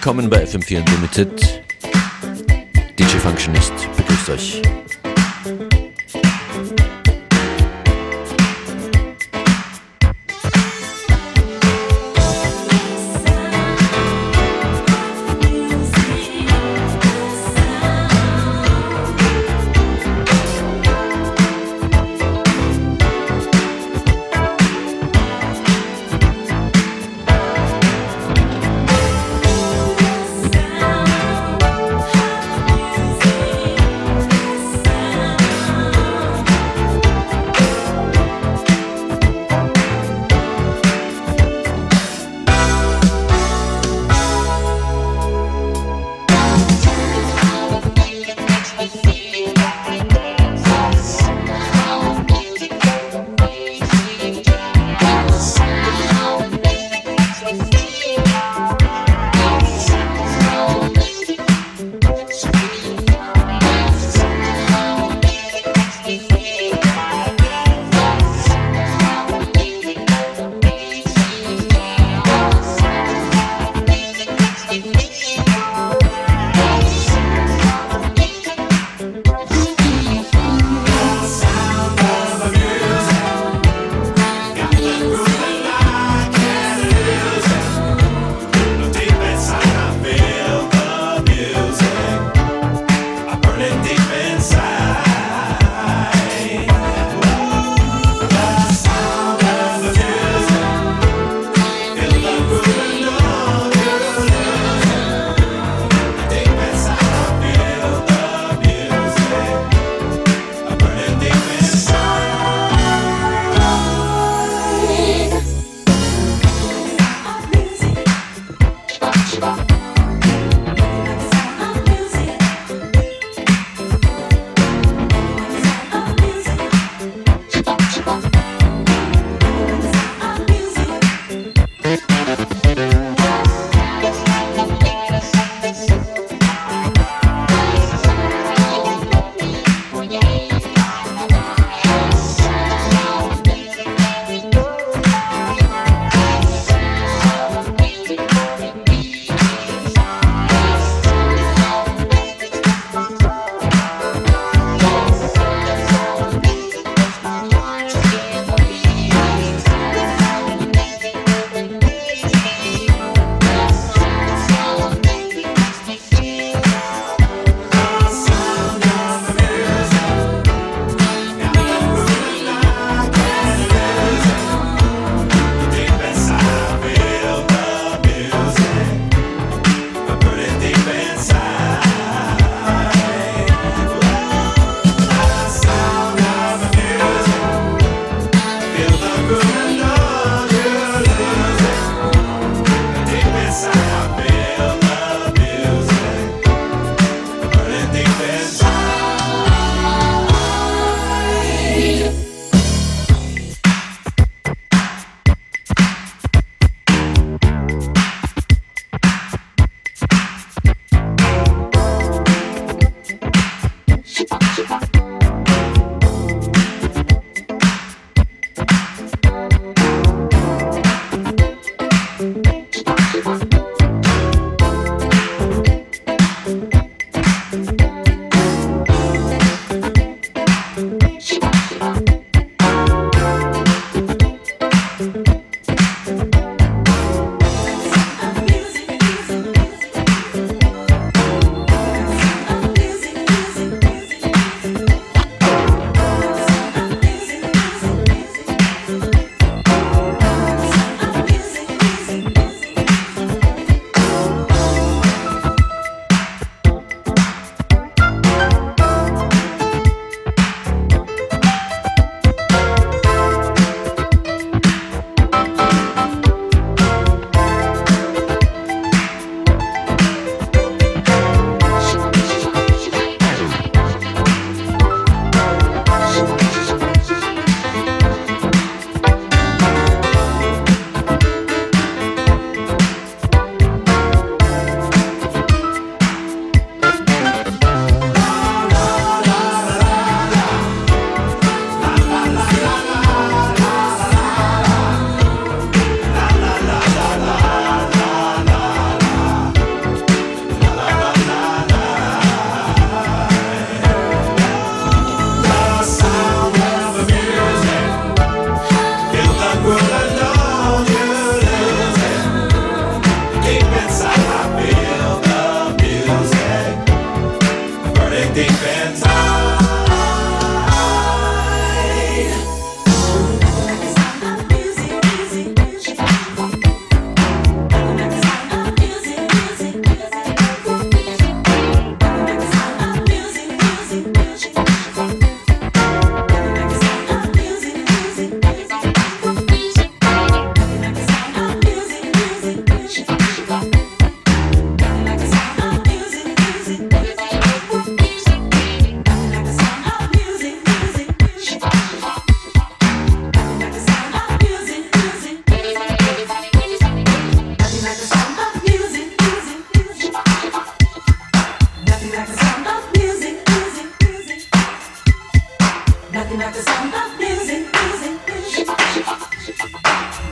willkommen bei FM4 Unlimited. DJ Functionist begrüßt euch.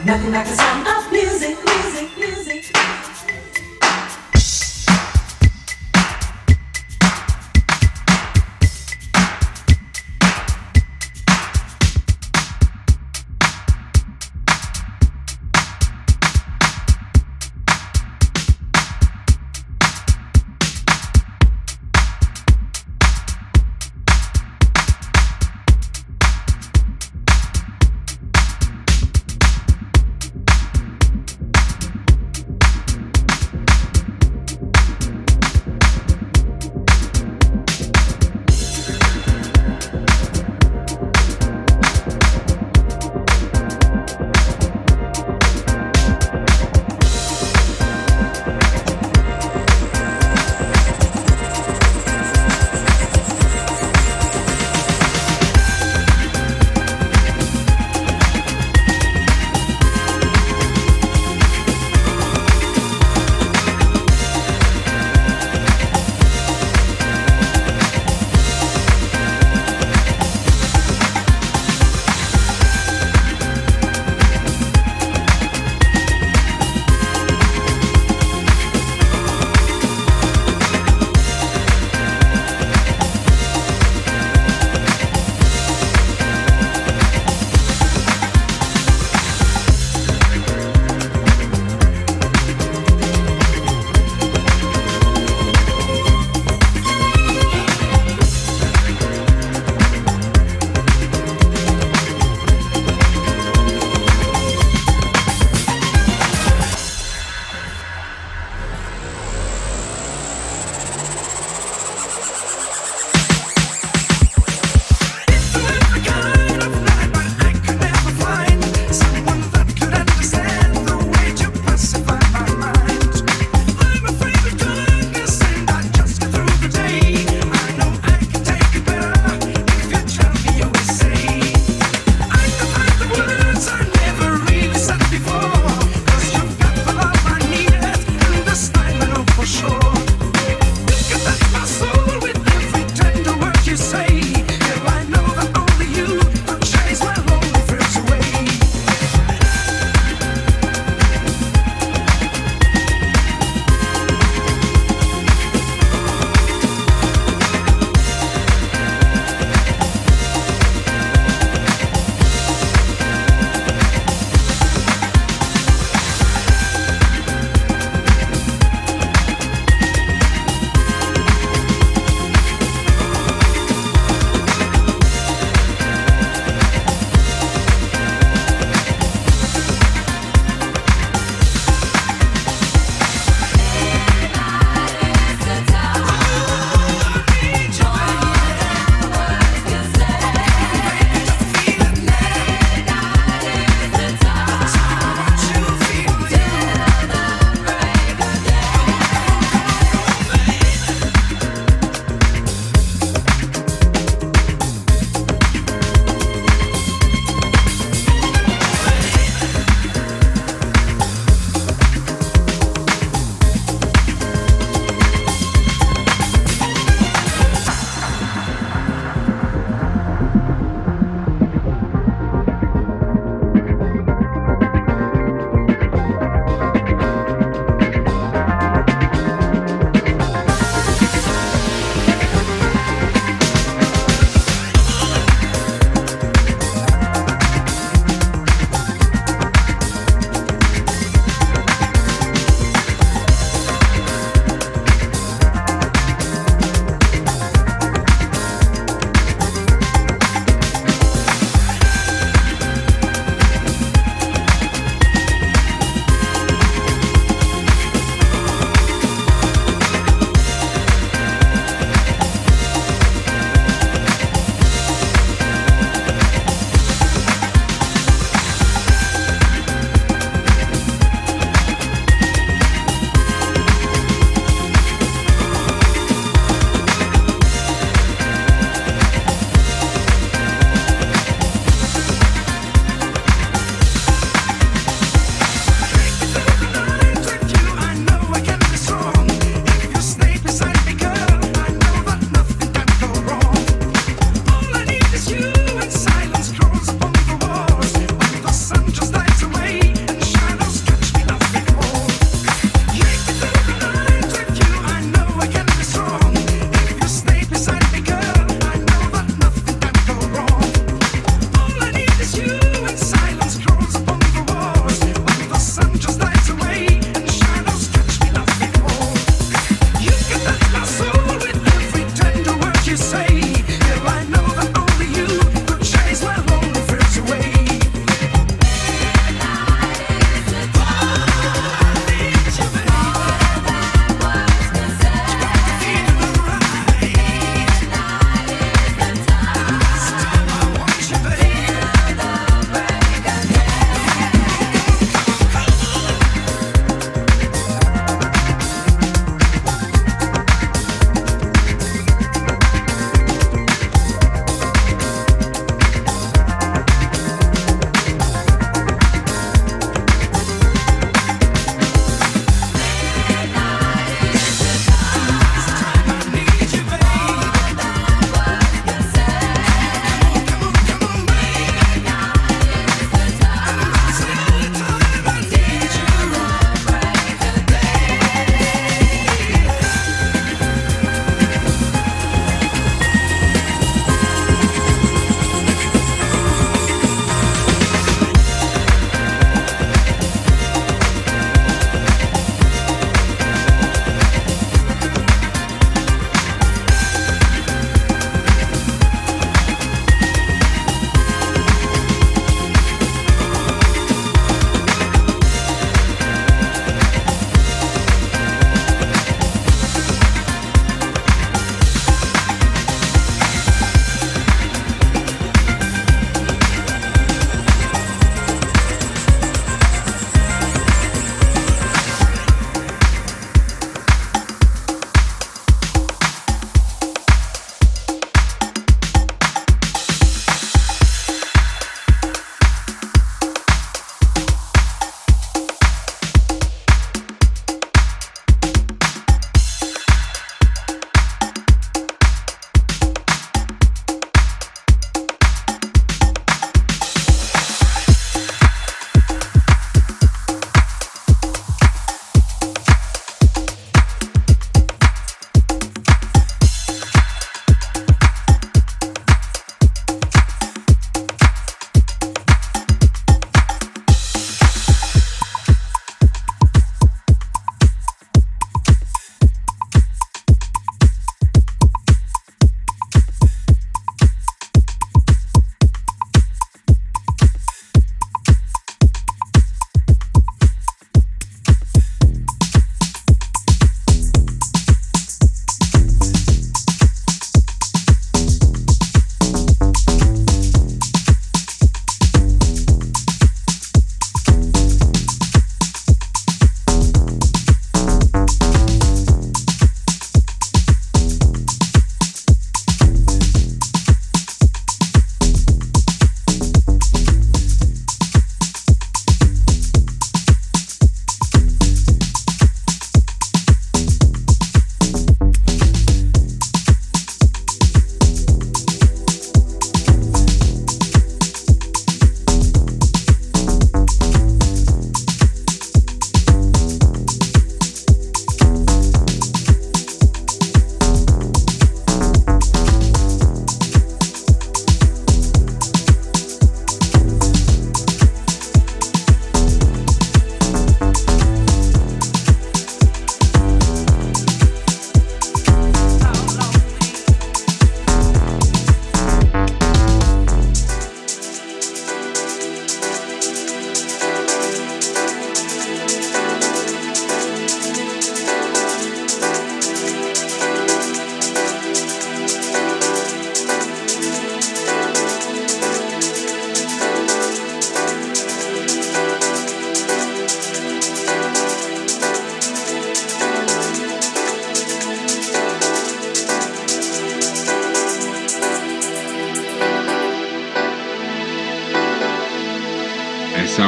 Nothing like the sound of music, music, music.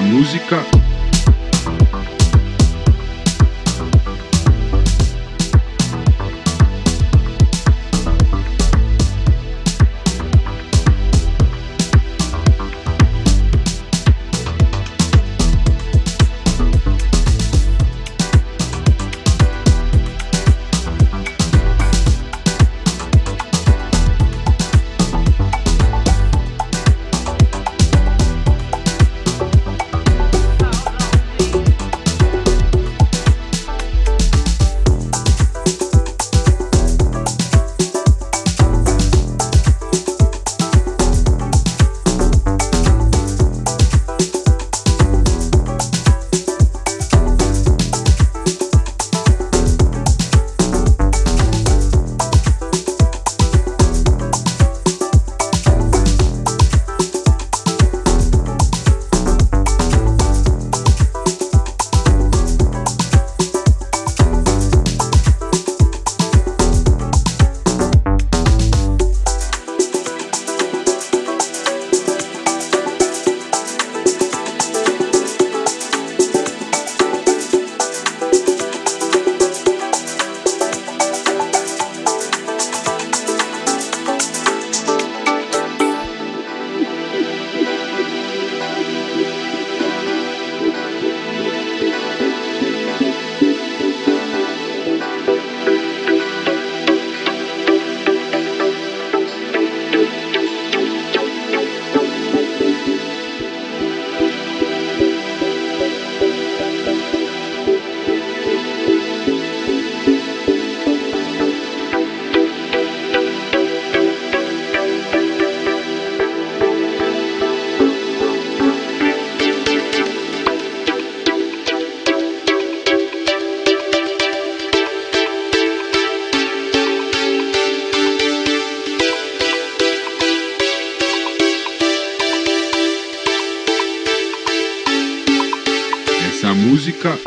música. Essa música.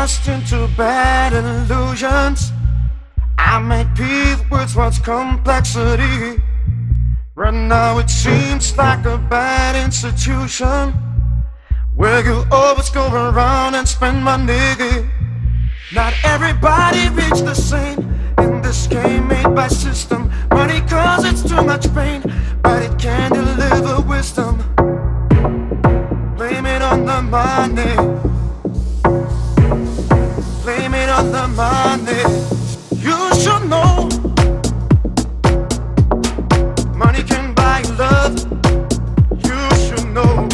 lost into bad illusions. I make peace with what's complexity. Right now it seems like a bad institution where you always go around and spend money. Not everybody reach the same in this game made by system. Money causes too much pain, but it can deliver wisdom. Blame it on the money. Blame it on the money. You should know money can buy love. You should know.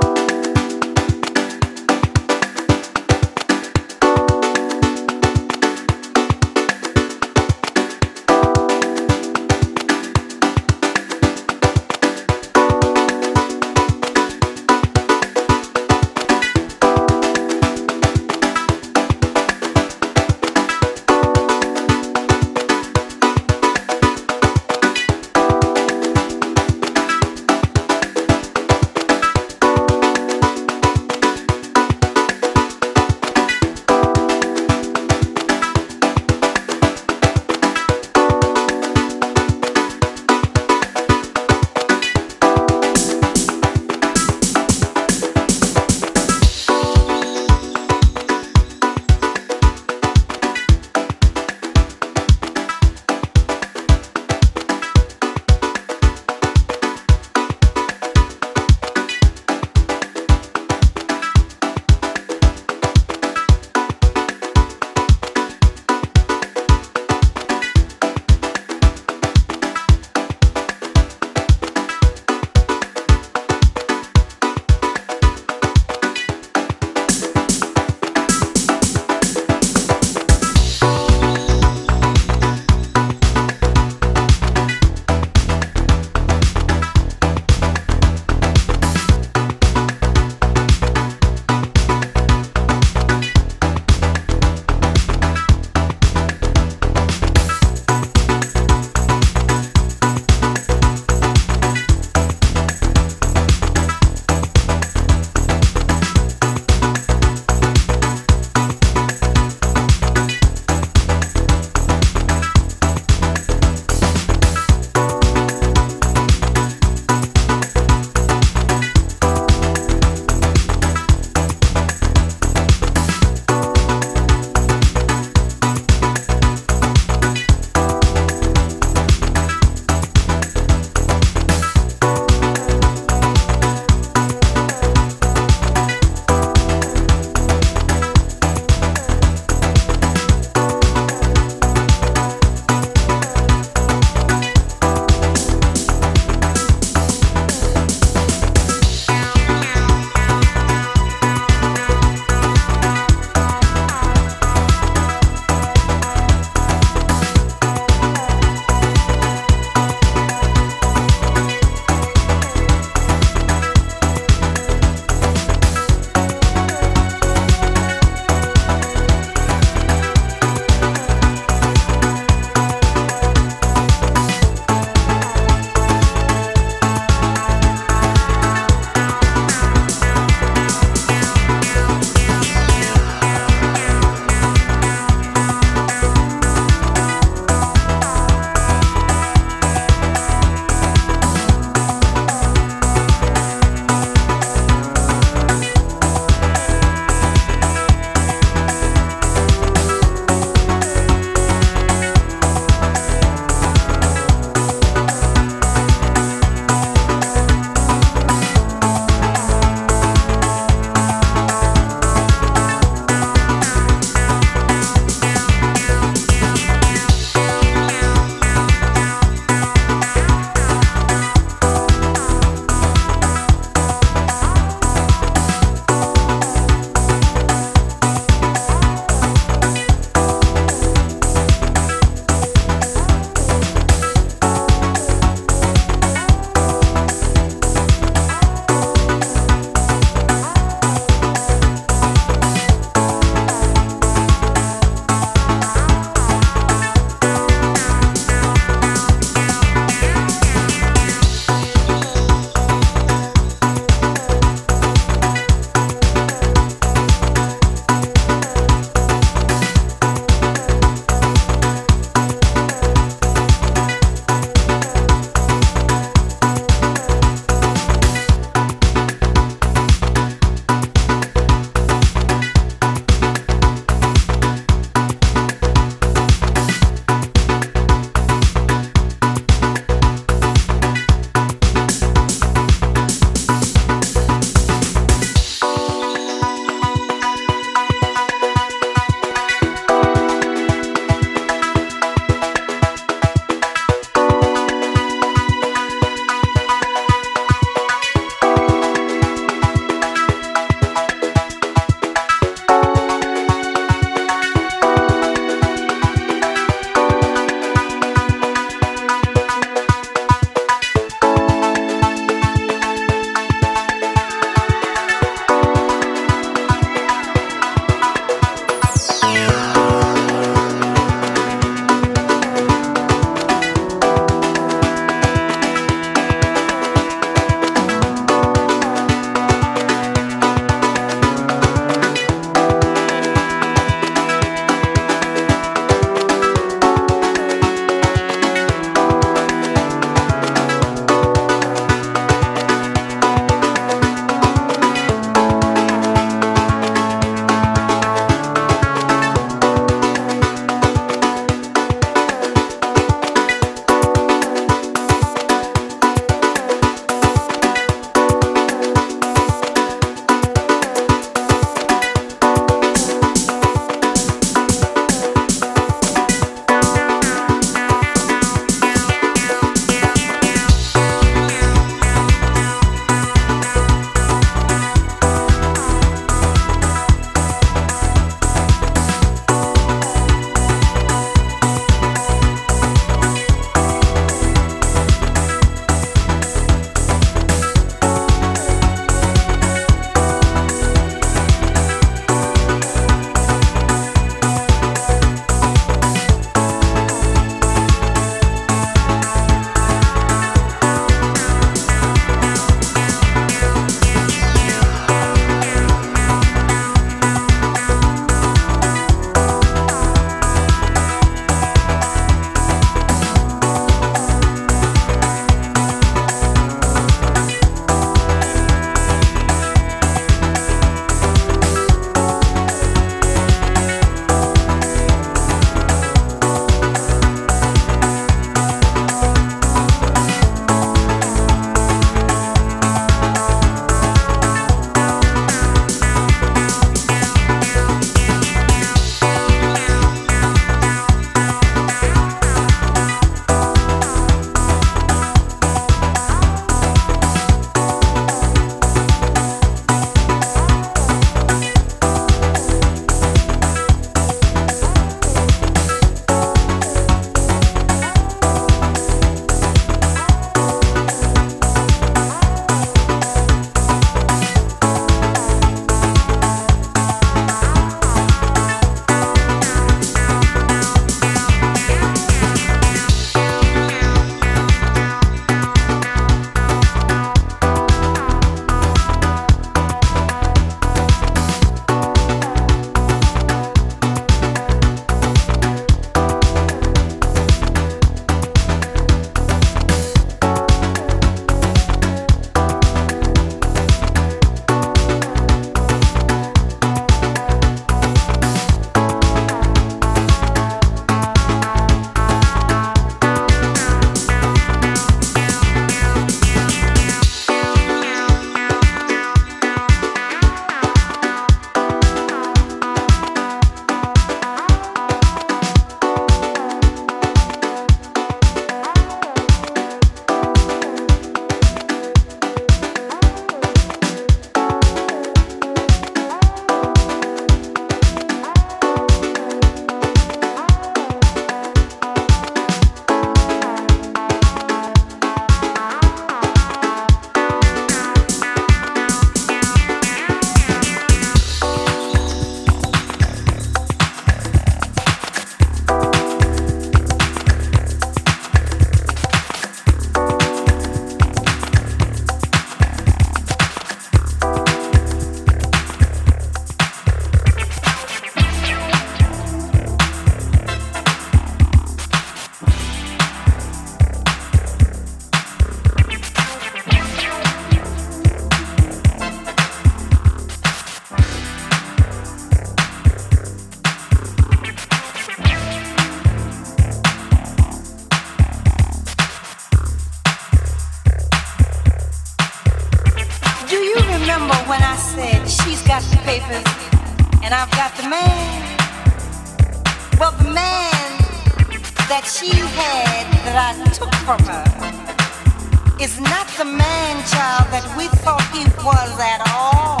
remember when I said she's got the papers and I've got the man? Well, the man that she had that I took from her is not the man, child, that we thought he was at all.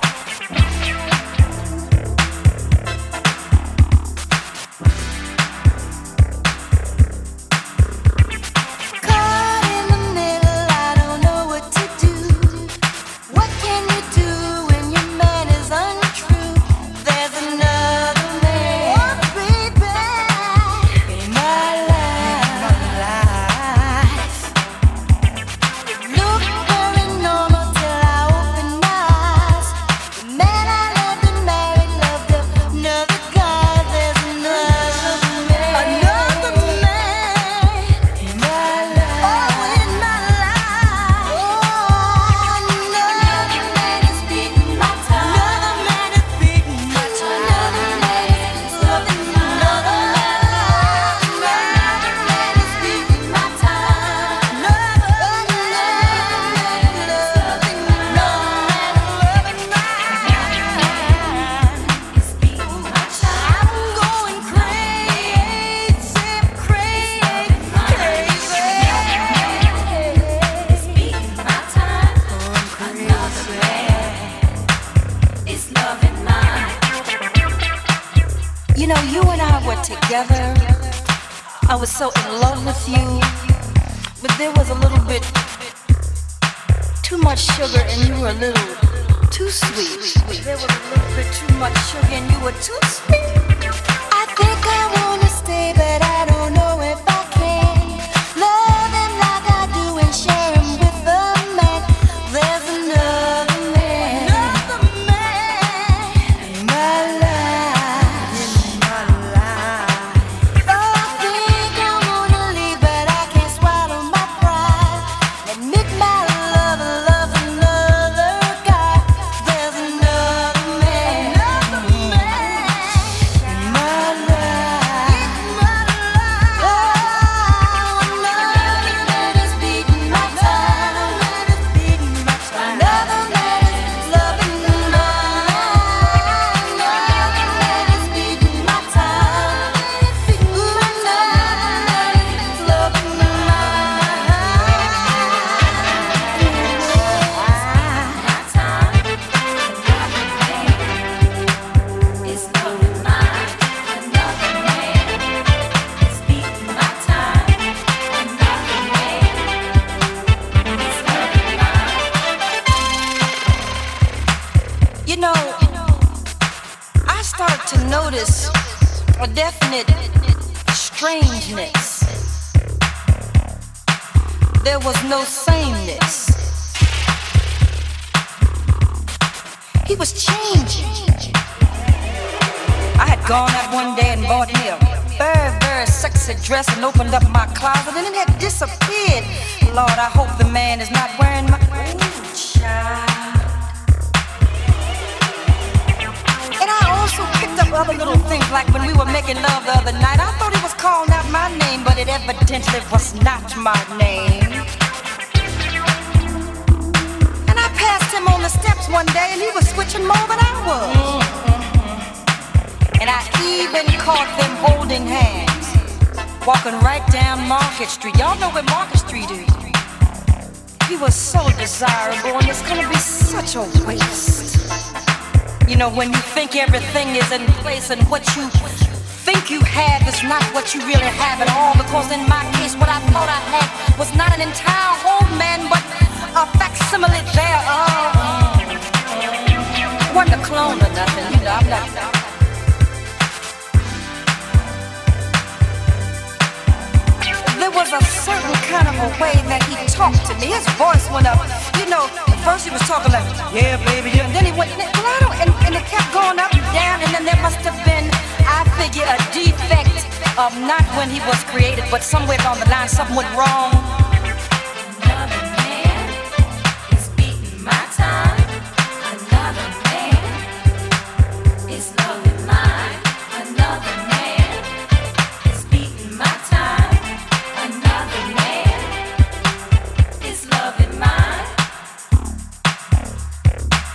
Together, I was so in love with you, but there was a little bit too much sugar and you were a little too sweet. There was a little bit too much sugar and you were too sweet. I think I wanna stay, but I don't know if I can. Love him like I do and share him with a man. There's another man, in my life, in my life. I think I wanna leave, but I can't swallow my pride. Admit my love another guy. There's another man, in my life. Oh, another man is beating my time. Another man is loving mine. Another man is beating my time. Another man is loving You know, I started to notice a definite strangeness. There was no sameness. He was changing. I had gone out one day and bought me a very, very sexy dress and opened up my closet and it had disappeared. Lord, I hope the man is not wearing my... Ooh, child. And I also picked up other little things, like when we were making love the other night. I thought he was calling out my name, but it evidently was not my name. And I passed him on the steps one day, and he was switching more than I was. And I even caught them holding hands, walking right down Market Street. Y'all know where Market Street is. He was so desirable, and it's gonna be such a waste. You know, when you think everything is in place and what you think you have is not what you really have at all. Because in my case, what I thought I had was not an entire whole man, but a facsimile thereof. Wasn't a clone or nothing, you know, I'm not. There was a certain kind of a way that he talked to me. His voice went up. You know, at first he was talking like, yeah, baby, yeah. And then he went, and it kept going up and down. And then there must have been, I figure, a defect of not when he was created, but somewhere along the line, something went wrong. Another man is beating my time. Another man is loving mine. Another man is beating my time. Another man is loving mine.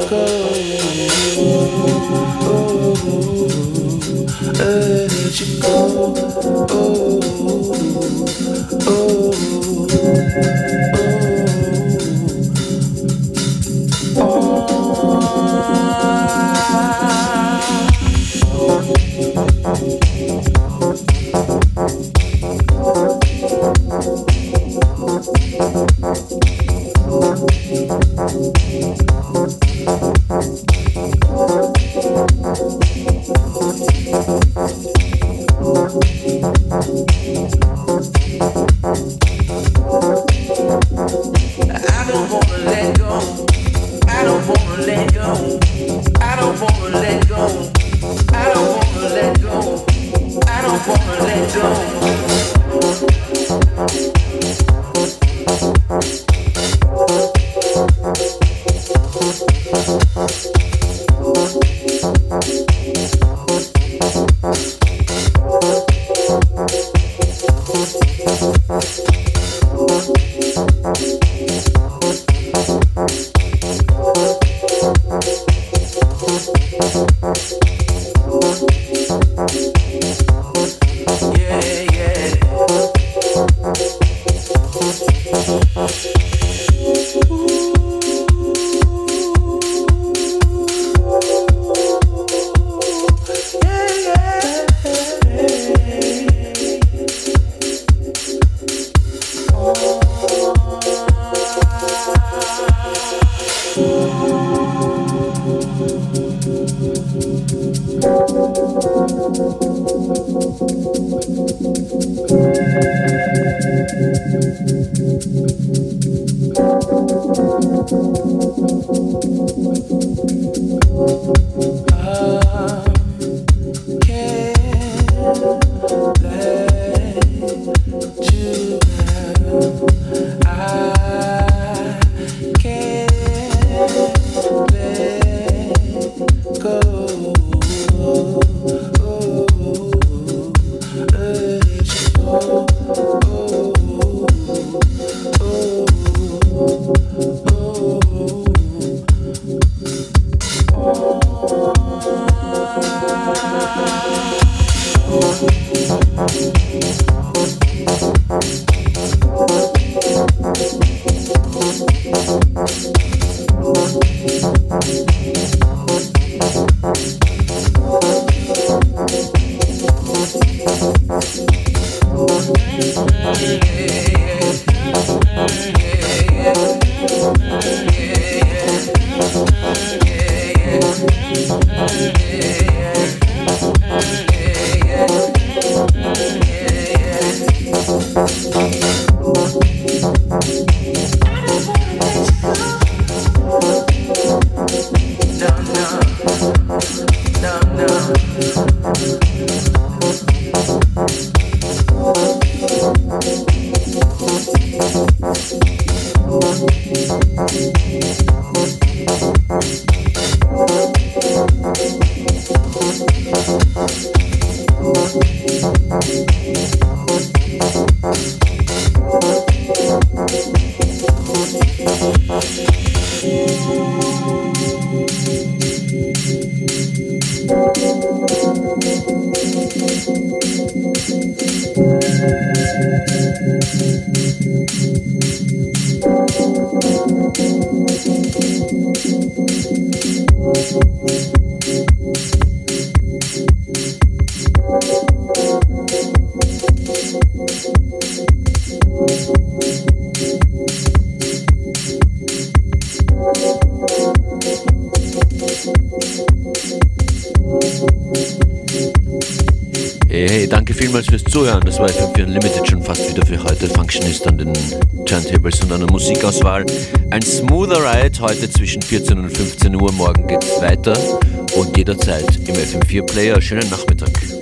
Hey, danke vielmals fürs Zuhören. Das war FM4 Unlimited schon fast wieder für heute. Functionist an den Turntables und an der Musikauswahl. Ein smoother Ride heute zwischen 14 und 15 Uhr. Morgen geht's weiter und jederzeit im FM4 Player. Schönen Nachmittag.